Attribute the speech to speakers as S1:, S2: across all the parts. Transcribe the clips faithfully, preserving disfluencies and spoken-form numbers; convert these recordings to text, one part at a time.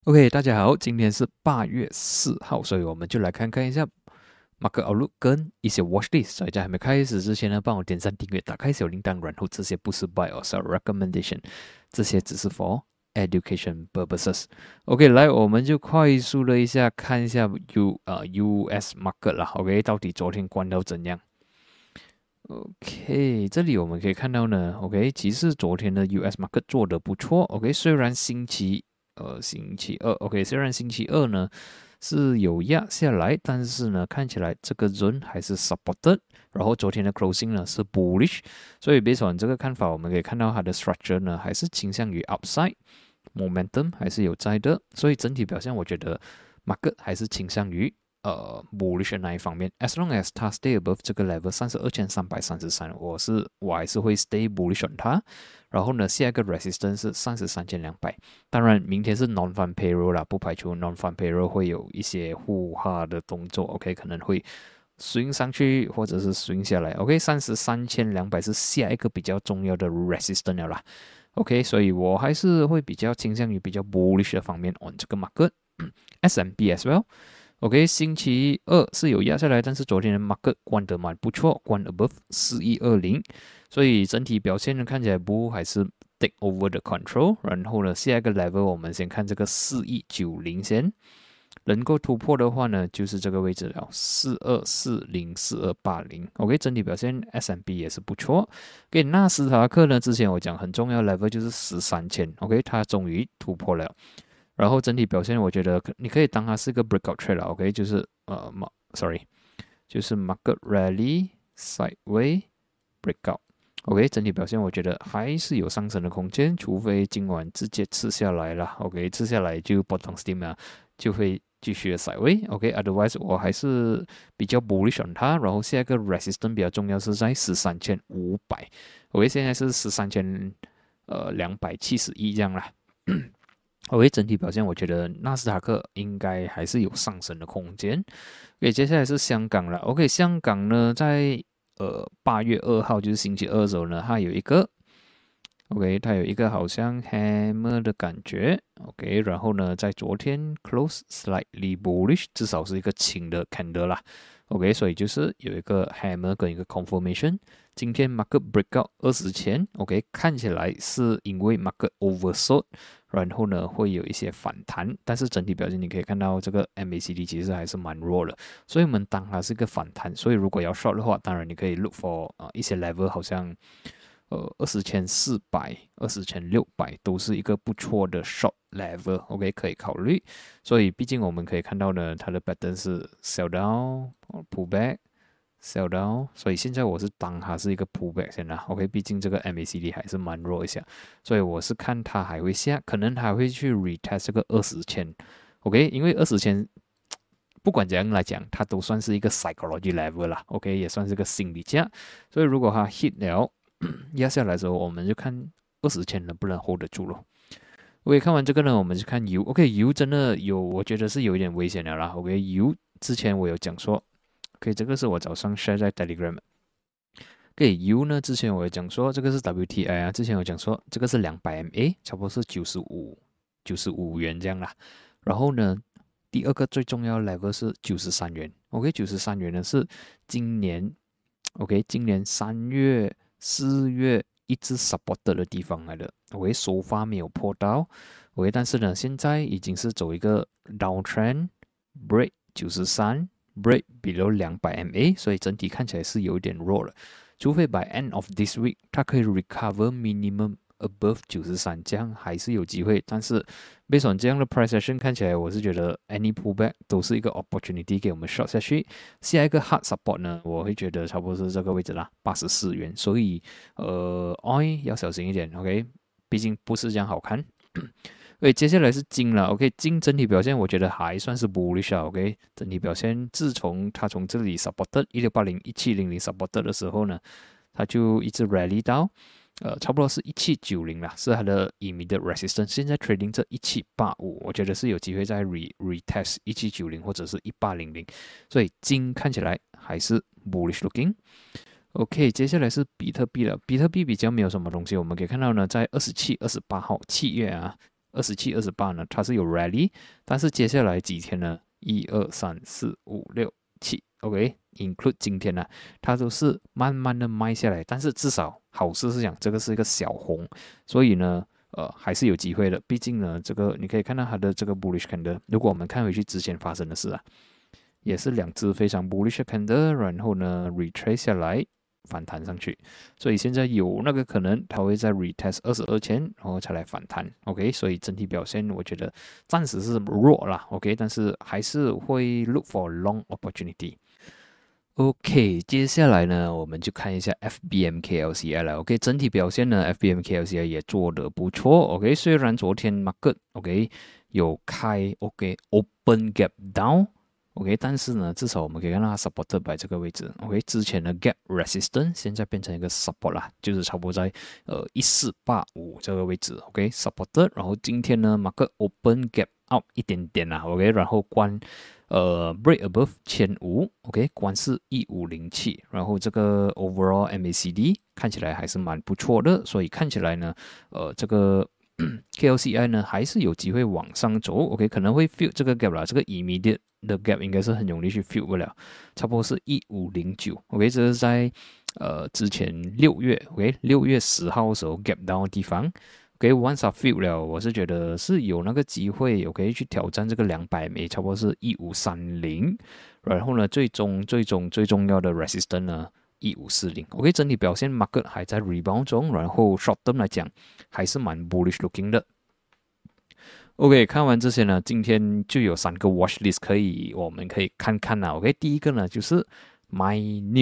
S1: OK，大家好，今天是八月四号，所以我们就来看看一下 Market Outlook 跟一些 Watch List。所以在还没开始之前呢，帮我点赞、订阅、打开小铃铛，然后这些不是 Buy or Sell Recommendation，这些只是 for education purposes。OK，来，我们就快速的一下看一下 U 呃 U S Market 啦。OK，到底昨天关到怎样？OK，这里我们可以看到呢，OK，其实昨天的 U S market 做得不错，OK，虽然星期呃星期二，OK，虽然星期二呢是有压下来，但是呢看起来这个 zone 还是 supported，然后昨天的 closing 呢是 bullish，所以 based on 这个看法，我们可以看到它的 structure 呢还是倾向于 upside，momentum 还是有在的，所以整体表现我觉得 market 还是倾向于呃 bullish 的那一方面，as long as 它 stay above 这个 level 三十二千三百三十三，我是我还是会 stay bullish on 它。然后呢，下一个 resistance 是三十三千两百。当然，明天是 non-farm payroll 啦，不排除 non-farm payroll 会有一些互化的动作，OK，可能会 swing 上去或者是 swing 下来，OK，三十三千两百是下一个比较重要的 resistance 了啦。OK，所以我还是会比较倾向于比较 bullish 的方面 on 这个 market，S and P as well。OK，星期二是有压下来，但是昨天的 market 关得蛮不错，关 above 四一二零，所以整体表现呢看起来不还是 take over the control。然后呢，下一个 level 我们先看这个四一九零先，能够突破的话呢，就是这个位置了，四二四零四二八零。OK，整体表现 S and P 也是不错。给纳斯达克呢，之前我讲很重要的 level 就是十三千，OK，它终于突破了。然后整体表现，我觉得你可以当它是个 breakout trade 了，OK，就是呃，sorry，就是 market rally sideway breakout，OK，整体表现我觉得还是有上升的空间，除非今晚直接吃下来了，OK，吃下来就 bottom steam 啊，就会继续的 sideway，OK，otherwise 我还是比较 bullish on 它，然后下一个 resistance 比较重要是在十三千五百，OK，现在是十三千呃两百七十一这样啦。OK，整体表现，我觉得纳斯达克应该还是有上升的空间。OK，接下来是香港了。OK，香港呢，在呃八月二号就是星期二的时候呢，它有一个 OK，它有一个好像 hammer 的感觉。OK，然后呢，在昨天 close slightly bullish，至少是一个轻的 candle 啦。OK，所以就是有一个 hammer 跟一个 confirmation。今天 market breakout 二十前，OK，看起来是因为 market oversold，然后呢会有一些反弹，但是整体表现你可以看到这个 M A C D 其实还是蛮弱的，所以我们当它是一个反弹，所以如果要 short 的话，当然你可以 look for 啊、呃、一些 level，好像呃二十千四百、二十千六百都是一个不错的 short level，OK、okay, 可以考虑。所以毕竟我们可以看到呢，它的 pattern 是 sell down、pull back。sell down，所以现在我是当它是一个 pullback 先啦。OK，毕竟这个 M A C D 还是蛮弱一下，所以我是看它还会下，可能还会去 retest 这个二十千。OK，因为二十千不管怎样来讲，它都算是一个 psychology level 啦。OK，也算是个心理价，所以如果它 hit 了压下来的时候，我们就看二十千能不能 hold 得住咯。OK，看完这个呢，我们就看 U。OK，U 真的有，我觉得是有一点危险的啦。OK，U 之前我有讲说。OK，这个是我早上 share 在 Telegram。OK，U 呢，之前我有讲说这个是 W T I 啊，之前有讲说这个是两百 M A，差不多是九十五、九十五元这样啦。然后呢，第二个最重要的 level 是九十三元。OK，九十三元呢是今年 OK，今年三月、四月一直 support 的地方来的。OK，首发没有破到。OK，但是呢，现在已经是走一个 downtrend break 九十三。break below 两百 M A， 所以整体看起来是有一点弱了。除非 by end of this week 它可以 recover minimum above 九十三，这样还是有机会。但是 based on 这样的 price action 看起来，我是觉得 any pullback 都是一个 opportunity 给我们 short 下去。下一个 hard support 呢，我会觉得差不多是这个位置啦，八十四元。所以呃 ，oil 要小心一点 ，OK， 毕竟不是这样好看。OK， 接下来是金了。OK， 金整体表现我觉得还算是 bullish 啊。OK， 整体表现，自从它从这里 supported 一六八零、一七零零 supported 的时候呢，它就一直 rally 到呃差不多是一七九零啦，是它的 immediate resistance。现在 trading 这一七八五，我觉得是有机会再 re retest 一七九零或者是一八零零，所以金看起来还是 bullish looking。OK， 接下来是比特币了。比特币比较没有什么东西，我们可以看到呢，在二十七、二十八号七月啊。 二十七、二十八呢，它是有 rally， 但是接下来几天呢，一二三四五六七 ，OK，include 今天呢，它都是慢慢的卖下来，但是至少好事是讲这个是一个小红，所以呢。呃，还是有机会的，毕竟呢，这个你可以看到它的这个 bullish candle， 如果我们看回去之前发生的事啊，也是两只非常 bullish candle， 然后呢 retrace 下来反弹上去，所以现在有那个可能它会在 retest 二十二千，然后才来反弹 ，OK， 所以整体表现我觉得暂时是弱啦 ，OK， 但是还是会 look for long opportunity。OK， 接下来呢，我们就看一下 F B M K L C I 了。OK， 整体表现呢 ，F B M K L C I 也做得不错。OK， 虽然昨天 market OK 有开 OK open gap down，OK， 但是呢，至少我们可以看到它 supported by 这个位置。OK， 之前的 gap resistance 现在变成一个 support 啦，就是差不多在呃一四八五这个位置。OK，supported， 然后今天呢 market open gap up 一点点啦。OK， 然后关。呃 break above 千五 ，OK， 关是一五零七，然后这个 overall M A C D 看起来还是蛮不错的，所以看起来呢，呃，这个 K L C I 呢还是有机会往上走 ，OK， 可能会 fill 这个 gap 啦，这个 immediate 的 gap 应该是很容易去 fill 不了，差不多是一五零九 ，OK， 这是在呃之前六月 ，OK， 六月十号的时候 gap down 的地方。OK， once I feel 了，我是觉得是有那个机会，我可以去挑战这个两百枚，差不多是一五三零。然后呢，最终最终最重要的 resistance 呢，一五四零。OK， 整体表现 market 还在 rebound 中，然后 short term 来讲还是蛮 bullish looking 的。OK， 看完这些呢，今天就有三个 watch list 可以，我们可以看看啦。OK， 第一个呢就是 My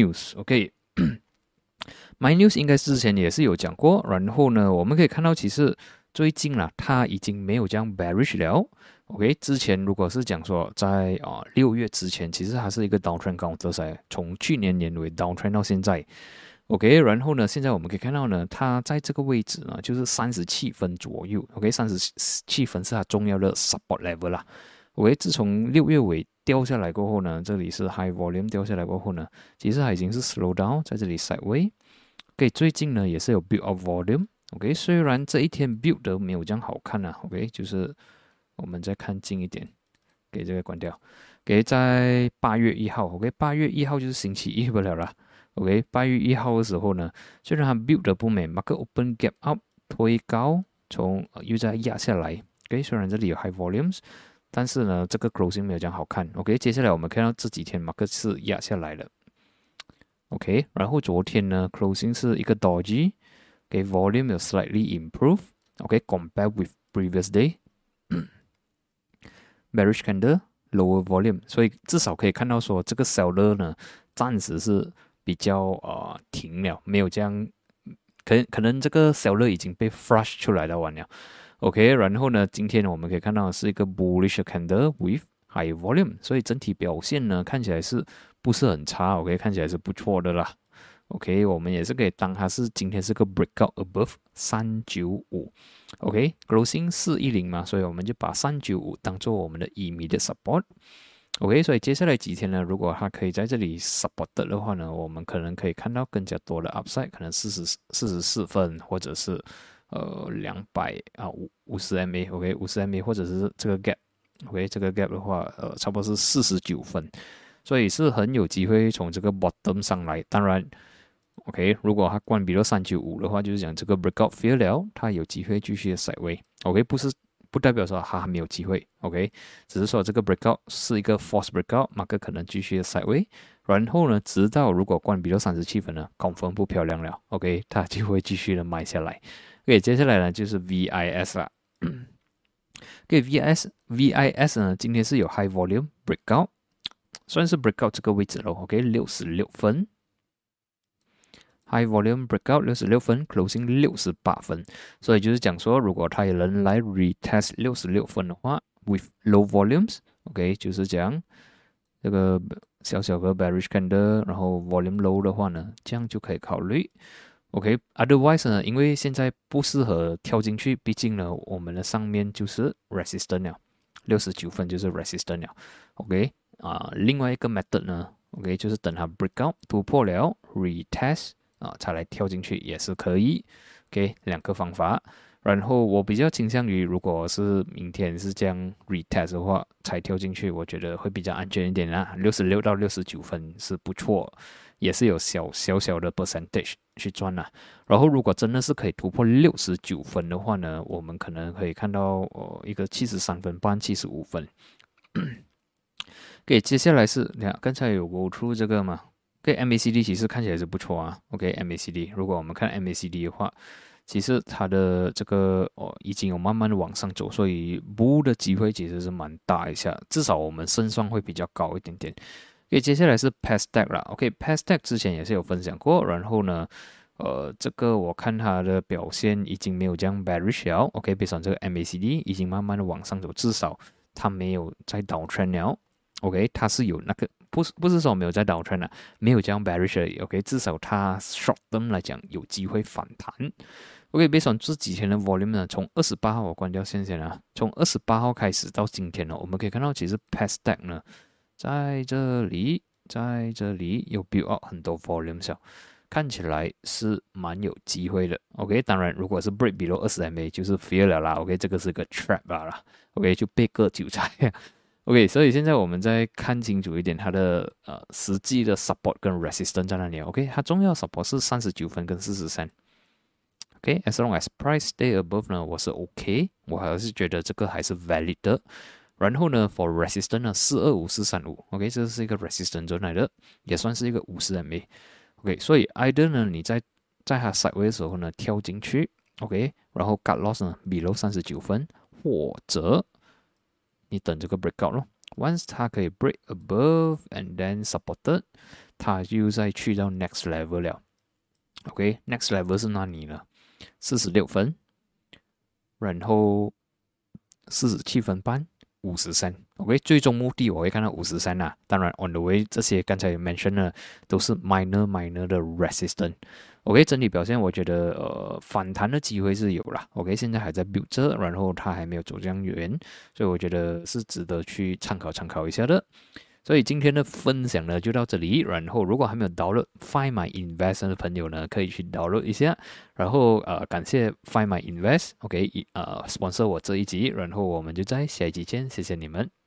S1: News。OK。My News 应该之前也是有讲过，然后呢，我们可以看到其实最近啦，它已经没有这样 bearish 了。OK， 之前如果是讲说在啊六月之前，其实它是一个 downtrend counter 噻，从去年年尾 downtrend 到现在。OK， 然后呢，现在我们可以看到呢，它在这个位置呢，就是三十七分左右。OK， 三十七分是它重要的 support level 啦。OK， 自从六月尾掉下来过后呢，这里是 high volume 掉下来过后呢，其实它已经是 slow down， 在这里 sideway。OK， 最近呢也是有 build up volume。OK， 虽然这一天 build 的没有这样好看啊。OK， 就是我们再看近一点，给这个关掉。给在八月一号 ，OK， 八月一号就是星期一不了啦。OK， 八月一号的时候呢，虽然它 build 的不美 ，market open gap up 推高，从、呃、又再压下来。OK， 虽然这里有 high volumes， 但是呢这个 closing 没有这样好看。OK， 接下来我们看到这几天 market 是压下来了。OK， 然后昨天呢 closing 是一个 doji， 给、okay, volume 有 slightly improve。OK， compare with previous day， bearish candle lower volume， 所以至少可以看到说这个 seller 呢暂时是比较呃停了，没有这样，可能可能这个 seller 已经被 flush 出来了完了。OK， 然后呢，今天我们可以看到是一个 bullish candle with high volume， 所以整体表现呢看起来是不是很差 ？OK， 看起来是不错的啦。OK， 我们也是可以当它是今天是个 breakout above 三九五。OK，closing 四一零嘛，所以我们就把三九五当做我们的 immediate support。OK， 所以接下来几天呢，如果它可以在这里 support 的话呢，我们可能可以看到更加多的 upside， 可能四十四十四分，或者是呃两百啊五五十 M A，OK， 五十 M A， 或者是这个 gap。OK， 这个 gap 的话，呃，差不多是四十九分，所以是很有机会从这个 bottom 上来。当然 ，OK， 如果它关闭了三九五的话，就是讲这个 breakout fail 了，它有机会继续的 sideway。OK， 不是不代表说它还没有机会 ，OK， 只是说这个 breakout 是一个 false breakout， 马克可能继续的 sideway， 然后呢，直到如果关闭了三十七分呢，confirm 分不漂亮了 ，OK， 它就会继续的买下来。OK， 接下来呢就是 V I S 啦。给、okay, V I S V I S 呢，今天是有 high volume breakout， 算是 breakout 这个位置咯 OK， 六十六分 ，high volume breakout 六十六分 ，closing 六十八分，所以就是讲说，如果它有人来 retest 六十六分的话 ，with low volumes，OK，、okay, 就是讲这个小小个 bearish candle， 然后 volume low 的话呢，这样就可以考虑。OK，otherwise、okay, 呢，因为现在不适合跳进去，毕竟呢，我们的上面就是 resistance 了，六十九分就是 resistance 了。OK， 啊、呃，另外一个 method 呢 ，OK， 就是等它 breakout 突破了 retest 啊、呃，才来跳进去也是可以。OK， 两个方法。 然后我比较倾向于，如果是明天是这样 retest 的话，才跳进去，我觉得会比较安全一点啊。六十六到六十九分是不错，也是有小小小的 percentage 去赚啊。然后如果真的是可以突破六十九分的话呢，我们可能可以看到呃一个七十三分半、七十五分。OK， 接下来是你看刚才有 go through 这个嘛 ？OK，M A C D 其实看起来是不错啊。OK，M A C D， 如果我们看 M A C D 的话。其实它的这个哦已经有慢慢的往上走，所以 bull 的机会其实是蛮大一下，至少我们胜算会比较高一点点。OK， 接下来是 P E S Tech 啦 ，OK，P E S Tech 之前也是有分享过，然后呢，呃，这个我看它的表现已经没有这样 bearish 了 ，OK， 别上这个 M A C D 已经慢慢的往上走，至少它没有在倒 trend 了 ，OK， 它是有那个不是不是说没有在倒 trend 啊，没有这样 bearish 而已 ，OK， 至少它 short term 来讲有机会反弹。OK， 别说这几天的 volume 呢，从二十八号我关掉线先啊，从二十八号开始到今天呢，我们可以看到其实 P E S Tech 呢，在这里，在这里有 build up 很多 volume 小，看起来是蛮有机会的。OK， 当然如果是 break below 二十 M A 就是 fail 了啦。OK， 这个是个 trap 啦。OK， 就被割韭菜。OK， 所以现在我们再看清楚一点它的呃实际的 support 跟 resistance 在哪里 ？OK， 它重要 support 是三十九分跟四十三。OK，as long as price stay above 呢，我是 OK， 我还是觉得这个还是 valid 的。然后呢 ，for resistance 呢，四二五四三五 ，OK， 这是一个 resistance zone 来的，也算是一个五十 M A。OK， 所以 either 呢，你在在它 sideways 的时候呢，跳进去 ，OK， 然后 cut loss 呢 below 三十九分，或者你等这个 breakout 咯。Once 它可以 break above and then supported， 它又再去到 next level 了。OK，next level 是哪里呢？四十六分，然后四十七分半，五十三。OK， 最终目的我会看到五十三啦。当然 ，on the way 这些刚才 mention 的都是 minor minor 的 resistance。OK， 整体表现我觉得呃反弹的机会是有啦。OK， 现在还在 build 着，然后它还没有走这样远，所以我觉得是值得去参考参考一下的。所以今天的分享呢就到这里，然后如果还没有 download Find My Invest 的朋友呢，可以去 download 一下。然后呃，感谢 Find My Invest，OK， 呃，sponsor 我这一集，然后我们就在下一集见，谢谢你们。